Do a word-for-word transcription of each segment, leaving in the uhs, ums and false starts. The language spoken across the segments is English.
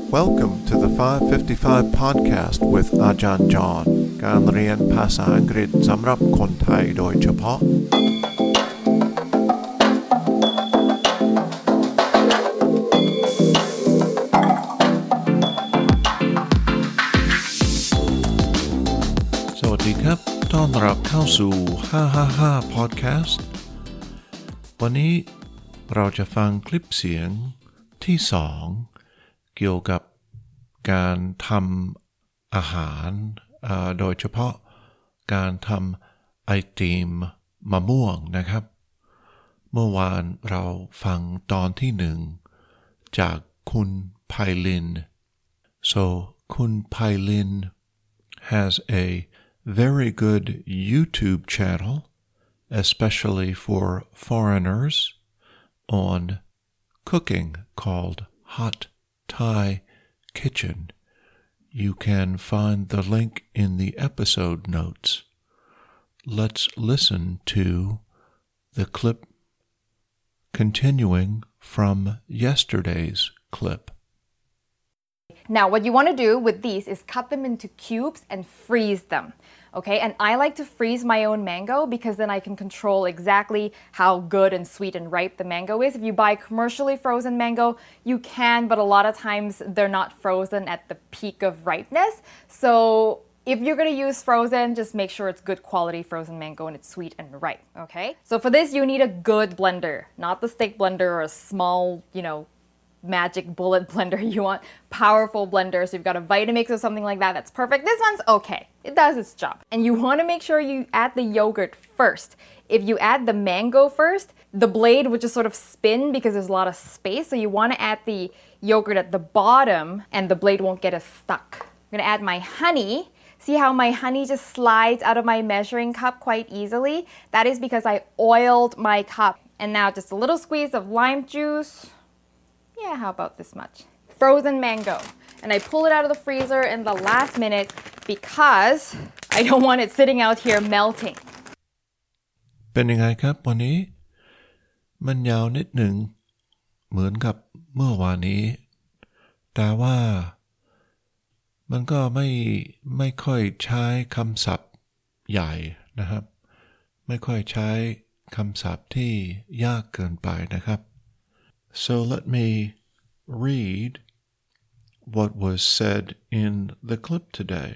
Welcome to the five fifty-five podcast with อาจารย์จอห์นการเรียนภาษาอังกฤษสำหรับคนไทยโดยเฉพาะสวัสดีครับต้อนรับเข้าสู่ห้าห้าห้า podcast วันนี้เราจะฟังคลิปเสียงที่สองเกี่ยวกับการทำอาหารโดยเฉพาะการทำไอติมมะม่วงนะครับเมื่อวานเราฟังตอนที่หนึ่งจากคุณไพลิน so คุณไพลิน has a very good YouTube channel especially for foreigners on cooking called Hot Thai Kitchen. You can find the link in the episode notes. Let's listen to the clip continuing from yesterday's clip. Now, what you want to do with these is cut them into cubes and freeze them. Okay, and I like to freeze my own mango because then I can control exactly how good and sweet and ripe the mango is. If you buy commercially frozen mango, you can, but a lot of times they're not frozen at the peak of ripeness. So if you're going to use frozen, just make sure it's good quality frozen mango and it's sweet and ripe, okay? So for this, you need a good blender, not the stick blender or a small, you know, magic bullet blender. You want powerful blenders. So you've got a Vitamix or something like that, that's perfect. This one's okay. It does its job. And you want to make sure you add the yogurt first. If you add the mango first, the blade would just sort of spin because there's a lot of space. So you want to add the yogurt at the bottom and the blade won't get as stuck. I'm going to add my honey. See how my honey just slides out of my measuring cup quite easily? That is because I oiled my cup. And now just a little squeeze of lime juice. Yeah, how about this much? Frozen mango. And I pull it out of the freezer in the last minute because I don't want it sitting out here melting. เป็นยังไงครับวันนี้มันยาวนิดหนึ่งเหมือนกับเมื่อวานนี้แต่ว่ามันก็ไม่ไม่ค่อยใช้คำศัพท์ใหญ่นะครับไม่ค่อยใช้คำศัพท์ที่ยากเกินไปนะครับ So let me read what was said in the clip today.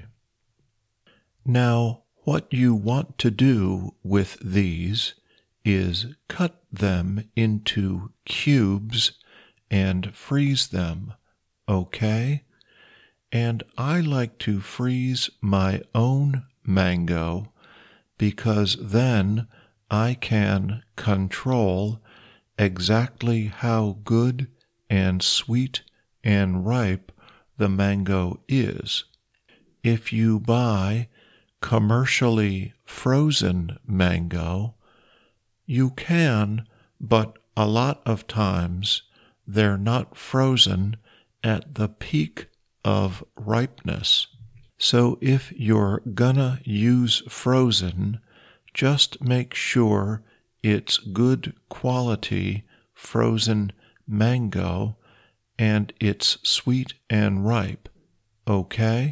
Now, what you want to do with these is cut them into cubes and freeze them, okay? And I like to freeze my own mango because then I can control exactly how good and sweet and ripe the mango is. If you buy commercially frozen mango, you can, but a lot of times they're not frozen at the peak of ripeness. So if you're gonna use frozen, just make sure it's good quality frozen mango and it's sweet and ripe, okay?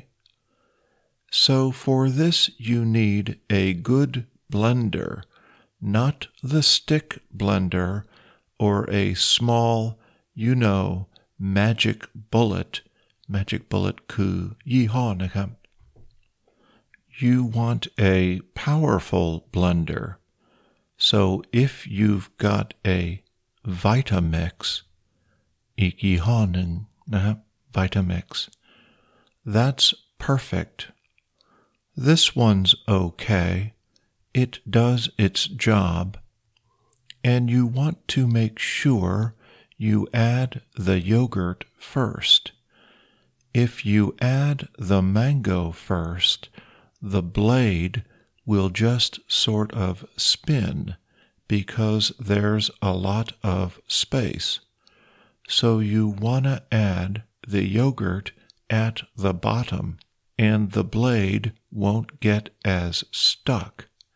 So for this you need a good blender, not the stick blender or a small, you know, magic bullet. Magic bullet คือยี่ห้อนะครับ You want a powerful blender. So if you've got a Vitamix อีกยี่ห้อหนึ่งนะครับ Vitamix, that's perfect. This one's okay. It does its job. And you want to make sure you add the yogurt first. If you add the mango first, the blade will just sort of spin because there's a lot of space. So you want to add the yogurt at the bottom and the blade won't get as stuck.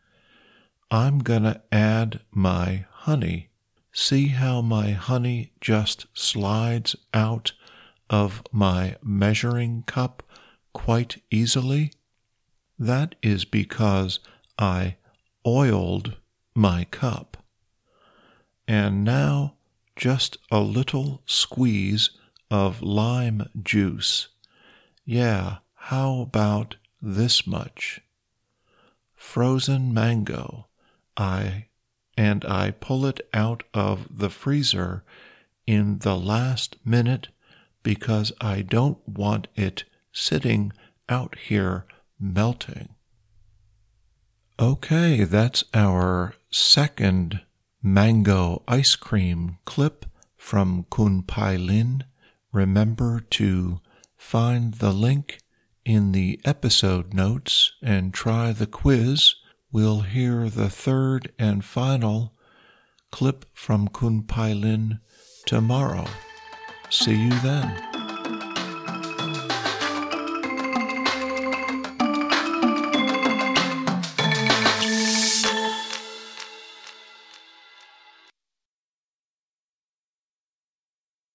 I'm gonna add my honey. See how my honey just slides out of my measuring cup quite easily? That is because I oiled my cup. And now just a little squeeze of lime juice. Yeah, how about this much? Frozen mango. I and I pull it out of the freezer in the last minute because I don't want it sitting out here melting. Okay, that's our second mango ice cream clip from Khun Pai Lin. Remember to find the link in the episode notes and try the quiz. We'll hear the third and final clip from Khun Pai Lin tomorrow. See you then.